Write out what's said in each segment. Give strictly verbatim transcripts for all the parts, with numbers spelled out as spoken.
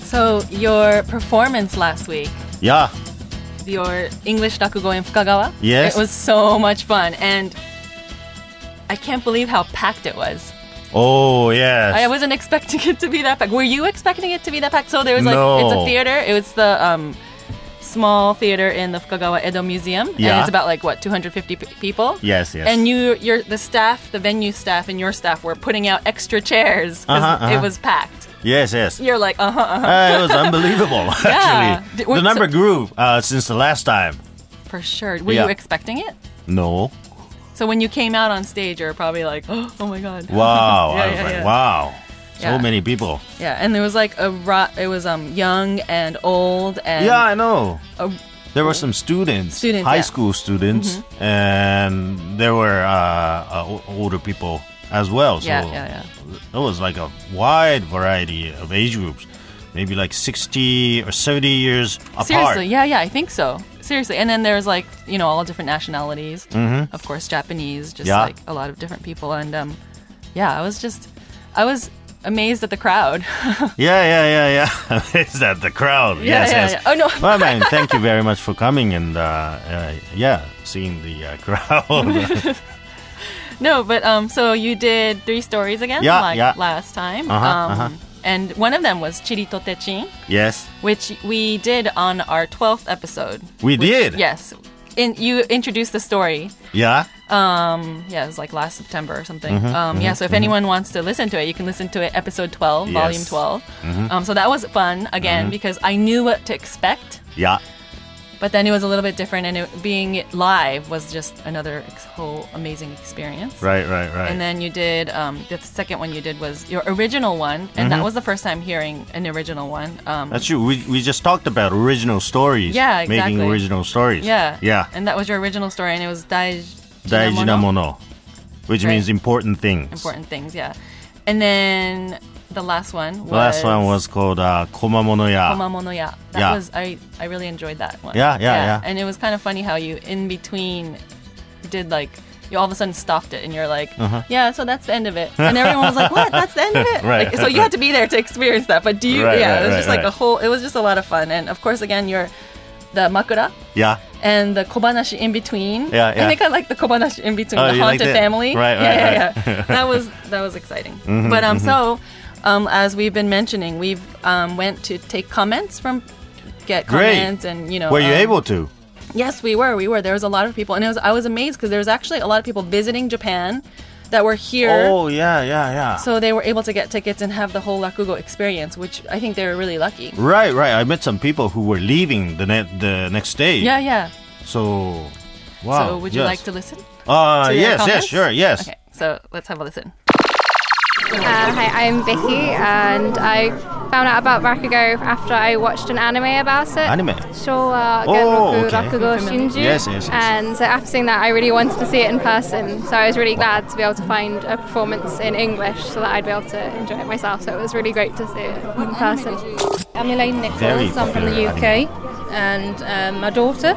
So your performance last week, Yeah. your English rakugo in Fukagawa, Yes. it was so much fun, and I can't believe how packed it was. Oh, yes. I wasn't expecting it to be that packed. Were you expecting it to be that packed? So there was like, No. it's a theater. It was the um, small theater in the Fukagawa Edo Museum. Yeah. And it's about like, what, two hundred fifty p- people? Yes, yes. And you, you're, the staff, the venue staff and your staff were putting out extra chairs because Uh-huh, uh-huh. it was packed. Yes, yes. You're like, uh-huh, uh-huh. Uh, it was unbelievable, actually. Did- The so- number grew uh, since the last time. For sure. Were Yeah. you expecting it? No. So when you came out on stage, you were probably like, oh my God. Wow. Yeah, I was yeah, like, yeah. wow. So Yeah. many people. Yeah, and there was like a ro- it was um young and old and Yeah, I know. a, There were some students, Students, high yeah. school students, and there were uh, uh, o- older people as well. So yeah, yeah, yeah. it was like a wide variety of age groups, maybe like sixty or seventy years apart. Seriously, yeah, yeah, I think so. Seriously, and then there's like you know all different nationalities. Mm-hmm. Of course, Japanese, just Yeah. like a lot of different people, and um, yeah, I was just, I was amazed at the crowd. Yeah, yeah, yeah, yeah. Is that the crowd? Yeah, yes, yeah, yes. yeah. Oh, no. Well, man, thank you very much for coming and uh, uh, yeah, seeing the uh, crowd. No, but um, so you did three stories again, Yeah, like yeah. last time. Uh-huh, um, uh-huh. And one of them was Chirito Techin, Yes, which we did on our twelfth episode. we did. Yes. In, you introduced the story. Yeah. Um, yeah, it was like last September or something. Mm-hmm, um, yeah, so if anyone wants to listen to it, you can listen to it, episode twelve, Yes. volume twelve. Um, so that was fun, again, because I knew what to expect, Yeah. but then it was a little bit different, and it, being live was just another ex- whole amazing experience. Right, right, right. And then you did, um, the second one you did was your original one, and that was the first time hearing an original one. Um, That's true. We, we just talked about original stories. Yeah, Making exactly. original stories. yeah. Yeah. And that was your original story, and it was Daiji Daiji na mono, which Right. means important things. Important things, yeah. And then the last one was... The last one was called uh, Komamono ya. Komamono ya. That Yeah. was, I, I really enjoyed that one. Yeah, yeah, yeah. And it was kind of funny how you, in between, did like, you all of a sudden stopped it and you're like, Uh-huh. yeah, so that's the end of it. And everyone was like, what? That's the end of it? Right. Like, so you had to be there to experience that. But do you, Right, yeah, right, it was right, just like right. a whole, it was just a lot of fun. And of course, again, you're the makura Yeah. and the kobanashi in between. Yeah, yeah. I think I like the kobanashi in between, Oh, the you liked haunted it? family. Right, yeah, right, yeah, right. yeah. that was that was exciting. But um, so um, as we've been mentioning, we've um went to take comments from get Great. comments and you know. Were you um, able to? Yes, we were. We were. There was a lot of people, and it was. I was amazed because there was actually a lot of people visiting Japan that were here. Oh, yeah, yeah, yeah. So they were able to get tickets and have the whole rakugo experience, which I think they were really lucky. Right, right. I met some people who were leaving the ne- the next day. Yeah, yeah. So, wow. So would you yes. like to listen? Uh, to their yes, yes, comments? sure, yes. Okay, so let's have a listen. Uh, hi, I'm Vicky, and I found out about Rakugo after I watched an anime about it. Anime? Showa Oh, Genroku okay. Rakugo Shinju. Yes, yes, yes. And so after seeing that, I really wanted to see it in person. So I was really glad to be able to find a performance in English so that I'd be able to enjoy it myself. So it was really great to see it in person. I'm Elaine Very Nichols. I'm from the popular U K, and um, my daughter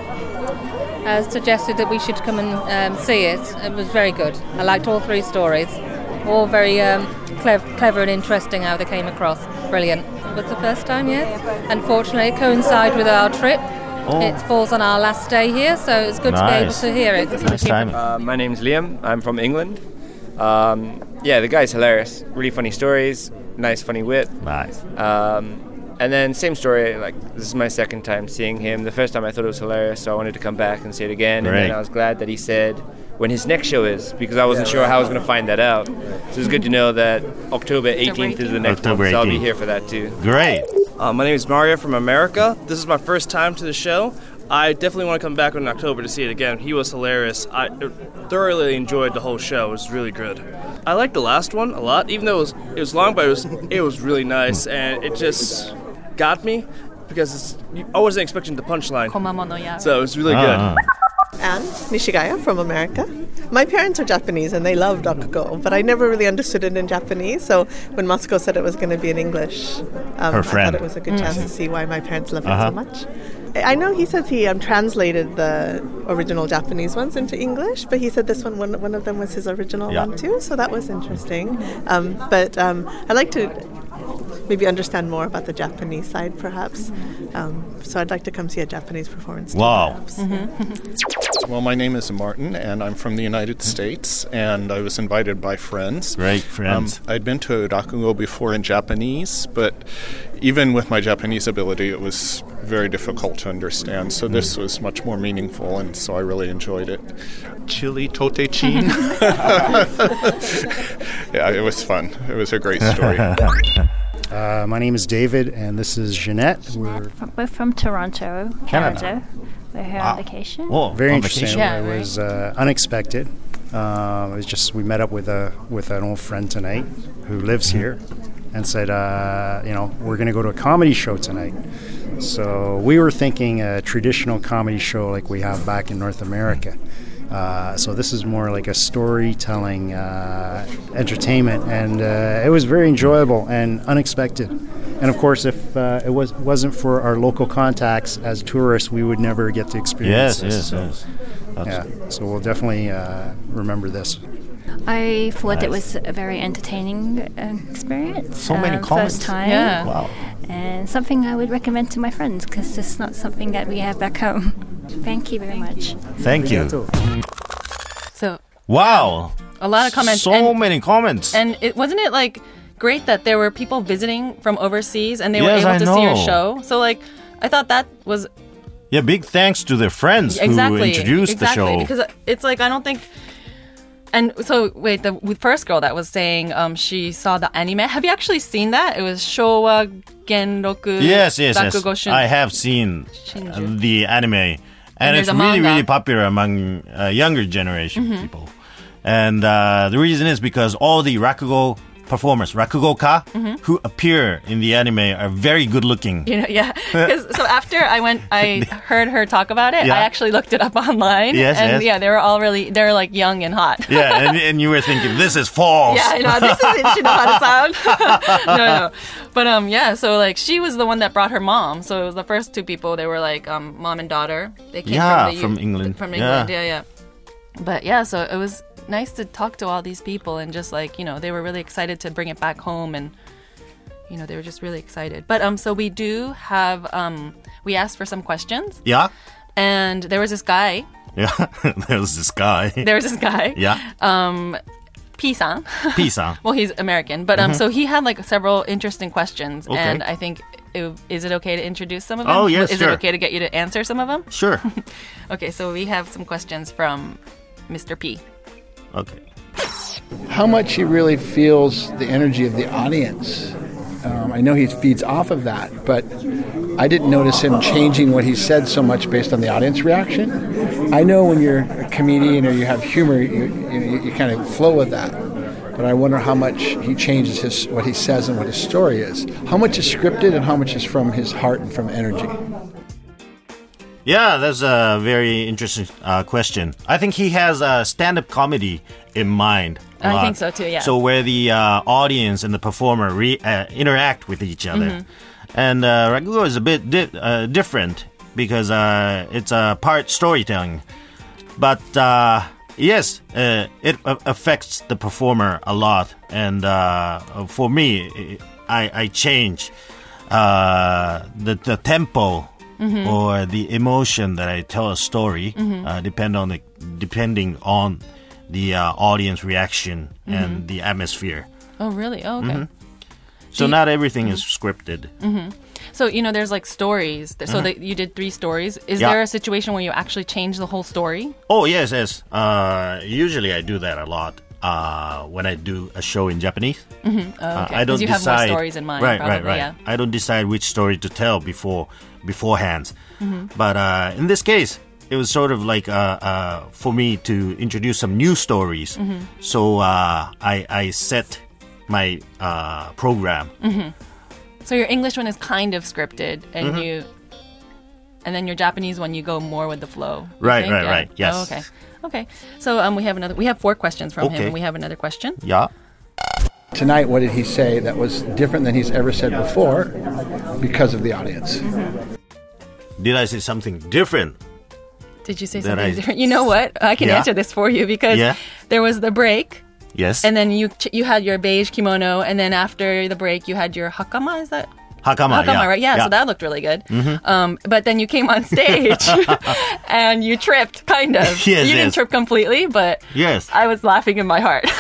has suggested that we should come and um, see it. It was very good. I liked all three stories. All very um, clever, clever and interesting how they came across. Brilliant. But the first time, yes. Unfortunately, it coincided with our trip. Oh. It falls on our last day here, so it's good to be able Nice. to hear it. Nice timing. Uh, my name's Liam. I'm from England. Um, yeah, the guy's hilarious. Really funny stories. Nice, funny wit. Nice. Um, and then same story. Like this is my second time seeing him. The first time I thought it was hilarious, so I wanted to come back and see it again. And Great. then I was glad that he said when his next show is, because I wasn't sure how I was going to find that out. So it's good to know that October eighteenth is the next October one. So I'll be eighteenth. here for that too. Great. Uh, my name is Mario from America. This is my first time to the show. I definitely want to come back in October to see it again. He was hilarious. I thoroughly enjoyed the whole show. It was really good. I liked the last one a lot, even though it was it was long, but it was it was really nice, and it just got me because it's, I wasn't expecting the punchline, Komamono ya. so it was really Uh-huh. Anne Nishigaya from America. My parents are Japanese and they love rakugo, but I never really understood it in Japanese. So when Masuko said it was going to be in English, um, Her I friend. thought it was a good chance to see why my parents love it Uh-huh. so much. I know he says he um, translated the original Japanese ones into English, but he said this one, one, one of them was his original Yeah. one too, so that was interesting. Um, but um, I like to maybe understand more about the Japanese side, perhaps. Um, so I'd like to come see a Japanese performance. Wow. Too, Mm-hmm. Well, my name is Martin, and I'm from the United States, and I was invited by friends. Great friends. Um, I'd been to Rakugo before in Japanese, but even with my Japanese ability, it was very difficult to understand. So this was much more meaningful, and so I really enjoyed it. Chili Totechin. Yeah, it was fun. It was a great story. Uh, my name is David, and this is Jeanette. We're from, we're from Toronto, Canada. Canada. We're here Wow. on vacation. Oh, very on interesting. vacation. Yeah, it right. was uh, unexpected. Um, it was just we met up with a with an old friend tonight who lives here, and said, uh, you know, we're going to go to a comedy show tonight. So we were thinking a traditional comedy show like we have back in North America. Uh, so this is more like a storytelling uh, entertainment, and uh, it was very enjoyable and unexpected. And of course, if uh, it was wasn't for our local contacts as tourists, we would never get to experience Yes, this. yes, so, yes. That's yeah, so we'll definitely uh, remember this. I thought it Nice. was a very entertaining uh, experience. So many uh, comments. First time. Yeah. Wow. And something I would recommend to my friends because it's not something that we have back home. Thank you very much. Thank you. So Wow. a lot of comments. So and, many comments. and it wasn't it like great that there were people visiting from overseas and they Yes, were I able to see your know. show. So like I thought that was Yeah, big thanks to their friends exactly who introduced exactly, the show. because it's like I don't think. And so wait, the first girl that was saying um, she saw the anime. Have you actually seen that? It was Showa Genroku. Yes, yes, yes. Rakugo Shun- I have seen uh, Shinju. the anime, and, And it's there's a really, manga. really popular among uh, younger generation Mm-hmm. people. And uh, the reason is because all the Rakugo performers, Rakugoka, who appear in the anime are very good looking. You know, yeah. 'Cause- so after I went, I heard her talk about it. Yeah. I actually looked it up online. Yes, and yes. yeah, they were all really, they're like young and hot. Yeah, and, and you were thinking, this is false. Yeah, I know. This is she knows how to sound. no, no. But um, yeah. So like, she was the one that brought her mom. So it was the first two people. They were like um, mom and daughter. They came Yeah, from, the, from England. From Yeah. England. Yeah, yeah. But yeah, so it was nice to talk to all these people and just like you know they were really excited to bring it back home and you know they were just really excited. But um, so we do have um, we asked for some questions Yeah? and there was this guy. Yeah, there's this guy. There was this guy. Yeah, Um, P-san. Pisa. Well, he's American, but um, so he had like several interesting questions, Okay. and I think it, is it okay to introduce some of them? Oh, yes, Is sure. it okay to get you to answer some of them? Sure. Okay, so we have some questions from Mister P. Okay. How much he really feels the energy of the audience. Um, I know he feeds off of that, but I didn't notice him changing what he said so much based on the audience reaction. I know when you're a comedian or you have humor, you, you, you kind of flow with that. But I wonder how much he changes his what he says and what his story is. How much is scripted and how much is from his heart and from energy? Yeah, that's a very interesting uh, question. I think he has a stand-up comedy in mind. a I lot. think so too, yeah. So where the uh, audience and the performer re- uh, interact with each other, Mm-hmm. and uh, Rakugo is a bit di- uh, different because uh, it's a part storytelling. But uh, yes, uh, it a- affects the performer a lot, and uh, for me, I, I change uh, the the tempo. Mm-hmm. Or the emotion that I tell a story, mm-hmm. uh, depend on the depending on the uh, audience reaction mm-hmm. and the atmosphere. Oh, really? Oh, okay. Mm-hmm. So you- not everything is scripted. Mm-hmm. So you know, there's like stories. So Mhm. that you did three stories. Is Yeah. there a situation where you actually change the whole story? Oh yes, yes. Uh, usually I do that a lot uh, when I do a show in Japanese. Mm-hmm. Oh, Uh, okay. I don't 'Cause you have decide. more stories in mind. Right, probably, right, right. Yeah. I don't decide which story to tell before beforehand. Mhm. But uh, in this case, it was sort of like uh, uh, for me to introduce some new stories. Mhm. So uh, I, I set my uh, program. Mm-hmm. So your English one is kind of scripted, and Mhm. you, and then your Japanese one you go more with the flow. you Right, think? right, Yeah. right. Yes. Oh, okay. Okay. So um, we have another. We have four questions from him, Okay. and we have another question. Yeah. Tonight, what did he say that was different than he's ever said before because of the audience? Did I say something different? Did you say That something I- different? You know what? I can Yeah? answer this for you because Yeah? there was the break, Yes. And then you ch- you had your beige kimono, and then after the break, you had your hakama. Is that Hakama? hakama, yeah. right? Yeah, yeah. So that looked really good. Mhm. Um, but then you came on stage, and you tripped, kind of. Yes, you yes. didn't trip completely, but Yes. I was laughing in my heart.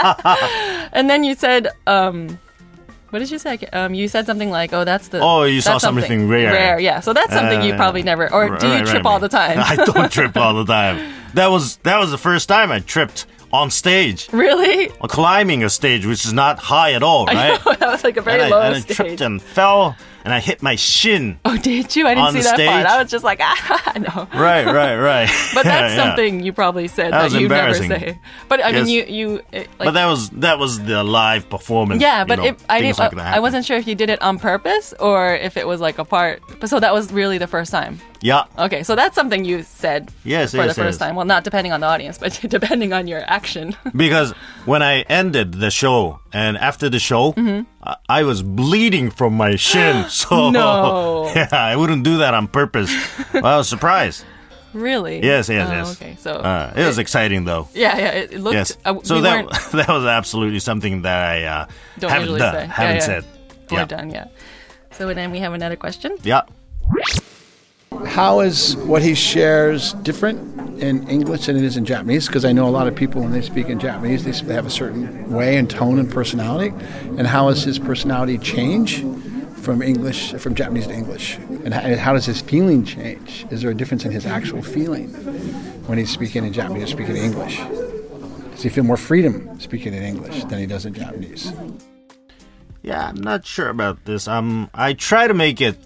And then you said, um, what did you say? Um, you said something like, "Oh, that's the Oh, you saw that's something rare. Rare, yeah. So that's something you Uh, probably never, or do you right, trip right, all the time? I don't trip all the time. That was that was the first time I tripped on stage. Really? Climbing a stage which is not high at all, I right? know, that was like a very and low I, and I stage. tripped and fell, and I hit my shin. Oh, did you? I didn't on see the that part. stage. I was just like, ah, no. Right, right, right. But that's Yeah. something you probably said That that, was you never embarrassing. say. But I mean, Yes. you you it, like, but that was that was the live performance. yeah. you But know, it, I things didn't. like that I happen. wasn't sure if you did it on purpose or if it was like a part. But so that was really the first time. Yeah. Okay, so that's something you said Yes, for yes, the first yes. time. Well, not depending on the audience, but depending on your action. Because when I ended the show, and after the show, Mhm. I, I was bleeding from my shin. So No. yeah, I wouldn't do that on purpose. Well, I was surprised. Really? Yes, yes, Oh, yes. Okay, so uh, it was exciting though. yeah, yeah. It, it looked. Yes. Uh, So we that weren't- that was absolutely something that I uh, don't haven't usually done, say. haven't yeah, yeah. said. Or Yeah. done, yeah. So then we have another question. Yeah. How is what he shares different in English than it is in Japanese? Because I know a lot of people, when they speak in Japanese, they sp- have a certain way and tone and personality. And how does his personality change from English, from Japanese to English? And how, and how does his feeling change? Is there a difference in his actual feeling when he's speaking in Japanese or speaking in English? Does he feel more freedom speaking in English than he does in Japanese? Yeah, I'm not sure about this. Um, I try to make it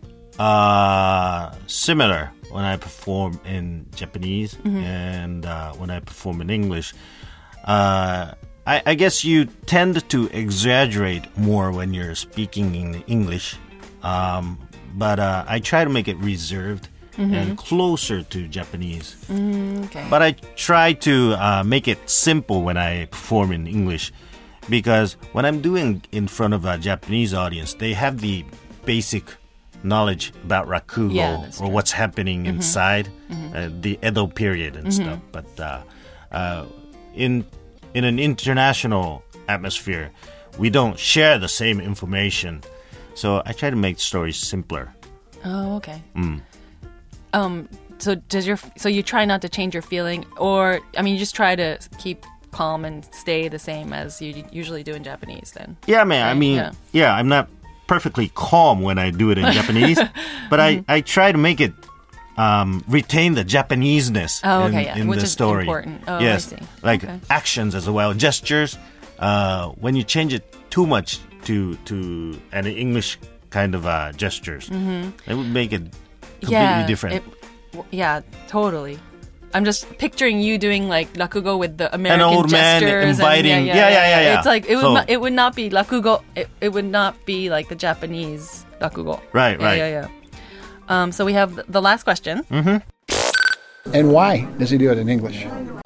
uh, similar when I perform in Japanese Mhm. and uh, when I perform in English. Uh, I, I guess you tend to exaggerate more when you're speaking in English, um, but uh, I try to make it reserved Mhm. and closer to Japanese. Mm, okay. But I try to uh, make it simple when I perform in English, because when I'm doing in front of a Japanese audience, they have the basic knowledge about rakugo Yeah, that's or true. what's happening Mhm. inside Mhm. uh, the Edo period and Mhm. stuff. But uh, uh, in in an international atmosphere, we don't share the same information. So I try to make stories simpler. Oh, okay. Mm. Um. So does your so you try not to change your feeling, or I mean, you just try to keep calm and stay the same as you usually do in Japanese. Then. Yeah, man. I Right? mean, Yeah. yeah. I'm not perfectly calm when I do it in Japanese, but Mhm. I, I try to make it um, retain the Japaneseness Oh, in, okay, yeah, in which the is story. important. Oh, I yes, see. like Okay. actions as well, gestures. Uh, when you change it too much to to an English kind of uh, gestures, Mhm. it would make it completely Yeah. different. It, w- yeah. Totally. I'm just picturing you doing like rakugo with the American old man gestures. inviting- and, yeah, yeah, yeah, yeah. It's like it would So- not, it would not be rakugo. It, it would not be like the Japanese rakugo. Right, Yeah, right. Yeah, yeah. Um, so we have th- the last question. Mm-hmm. And why does he do it in English?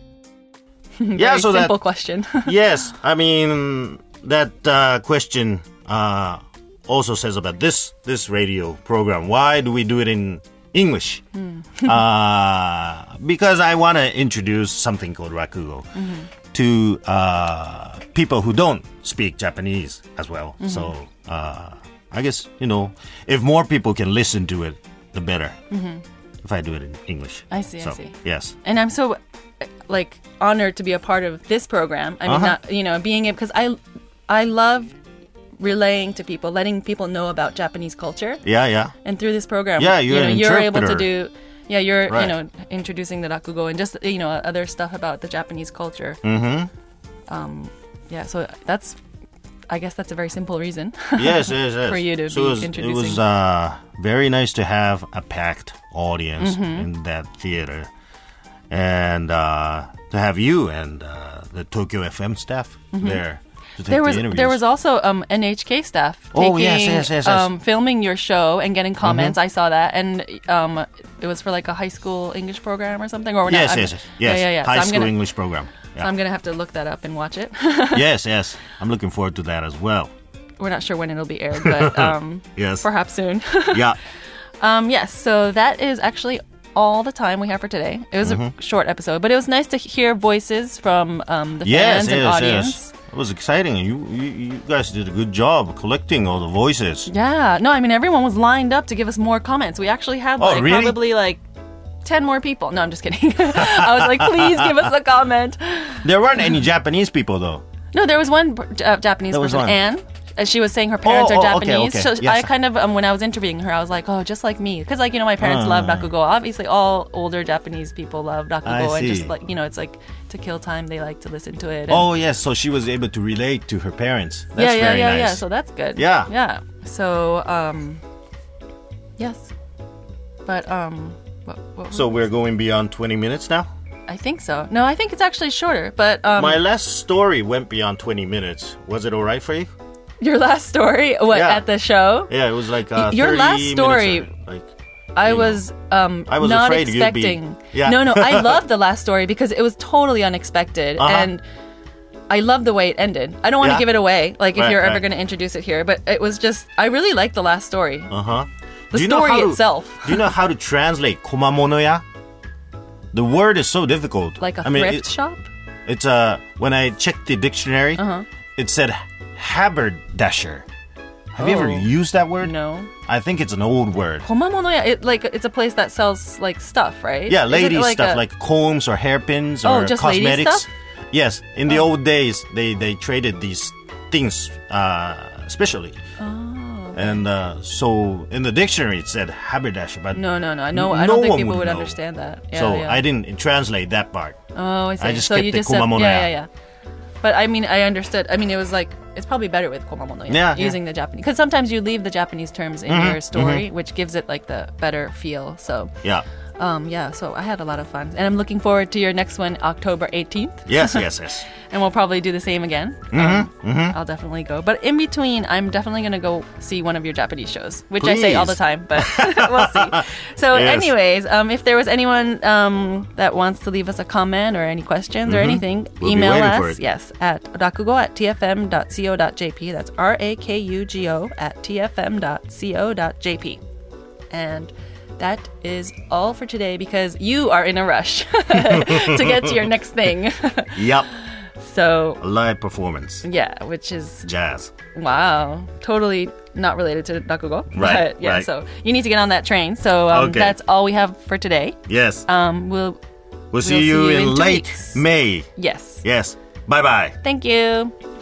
Yeah, Very so that- simple question. Yes, I mean that uh, question uh, also says about this this radio program. Why do we do it in English? Hmm. uh, because I want to introduce something called rakugo Mhm. to uh, people who don't speak Japanese as well. Mhm. So uh, I guess you know if more people can listen to it, the better. Mhm. If I do it in English, I see, So, I see. Yes. And I'm so uh, like honored to be a part of this program. I mean, Uh-huh. not you know, being able because I I love relaying to people, letting people know about Japanese culture. Yeah, yeah. And through this program, Yeah, you you're know, an you're able to interpreter. do. Yeah, you're Right. you know introducing the rakugo and just you know other stuff about the Japanese culture. Mm-hmm. Um, yeah, so that's. I guess that's a very simple reason. Yes, yes, yes. For you to so be it was, introducing. It was uh, very nice to have a packed audience Mhm. in that theater, and uh, to have you and uh, the Tokyo F M staff Mhm. there to take There was the interviews. there was also um, N H K staff Oh, taking, yes, yes, yes, yes. Um, filming your show and getting comments. Mhm. I saw that, and um, it was for like a high school English program or something. Or yes, not, yes, I'm- yes, yes. Yeah, yeah, yeah. High so I'm school gonna, English program. So Yeah. I'm gonna have to look that up and watch it. yes, yes. I'm looking forward to that as well. We're not sure when it'll be aired, but um, Yes. perhaps soon. Yeah. Um, yes. So that is actually all the time we have for today. It was Mhm. a short episode, but it was nice to hear voices from um, the Yes, fans and yes, audience. yes. It was exciting. You, you you guys did a good job collecting all the voices. Yeah, no, I mean everyone was lined up to give us more comments. We actually had Oh, like really? probably like ten more people. No, I'm just kidding. I was like, please give us a comment. There weren't any Japanese people though. No, there was one uh, Japanese There was person, one. Anne. As she was saying, her parents Oh, are oh, okay, Japanese. okay. So Yes. I kind of, um, when I was interviewing her, I was like, oh, just like me, because like you know, my parents Ah. love rakugo. Obviously, all older Japanese people love rakugo, I and just see. like you know, it's like to kill time. They like to listen to it. and- Oh yes, so she was able to relate to her parents. That's yeah, yeah, very yeah, nice. yeah. So that's good. Yeah. yeah. So, um, yes, but um, what, what So we're going beyond twenty minutes now? I think so. No, I think it's actually shorter. But um, My last story went beyond twenty minutes. Was it all right for you? your last story, what Yeah. at the show? Yeah, it was like uh, Your thirty last minutes story- or, like I was um I was not afraid you'd be- expecting. Yeah. No, no, I loved the last story because it was totally unexpected Uh-huh. and I love the way it ended. I don't want to Yeah. give it away, like if Right, you're ever right. going to introduce it here, but it was just I really liked the last story. Uh-huh. The Do you know story how to- itself. Do you know how to translate komamonoya? The word is so difficult. Like a I mean, thrift it- shop? It's uh when I checked the dictionary, Uh-huh. it said haberdasher. Have you ever Oh. used that word? No. I think it's an old word. Komamonoya, it like it's a place that sells like stuff, right? Yeah, Is it lady stuff a- like combs or hairpins Oh, or just lady cosmetics. stuff? Yes, in the old days, they they traded these things uh, specially. Oh. And uh, so in the dictionary it said haberdasher, but No, no, no. No, I no don't think one people would know. understand that. Yeah, so yeah. I didn't translate that part. Oh, I see. I just so kept you the just said, komamonoya. yeah, yeah, yeah. But I mean, I understood. I mean, it was like it's probably better with komamonoya. Yeah, yeah. using the Japanese because sometimes you leave the Japanese terms in Mhm, your story, which gives it like the better feel. So Yeah. um, yeah. So I had a lot of fun, and I'm looking forward to your next one, October eighteenth. Yes, yes, yes. And we'll probably do the same again. Mhm, Um, mhm. I'll definitely go. But in between, I'm definitely going to go see one of your Japanese shows, which I say all the Please. time, but we'll see. So, Yes. anyways, um, if there was anyone um, that wants to leave us a comment or any questions or Mhm. anything, We'll be email waiting for us. it. Yes, at rakugo at t f m dot co dot j p. That's R A K U G O at t f m dot co dot j p. And that is all for today because you are in a rush to get to your next thing. Yep. So A live performance. yeah, which is Jazz. wow, totally not related to rakugo. Right, But yeah, right. so you need to get on that train. So um, Okay. that's all we have for today. Yes. Um, we'll We'll see you in two late weeks. May. Yes. Yes. Bye bye. Thank you.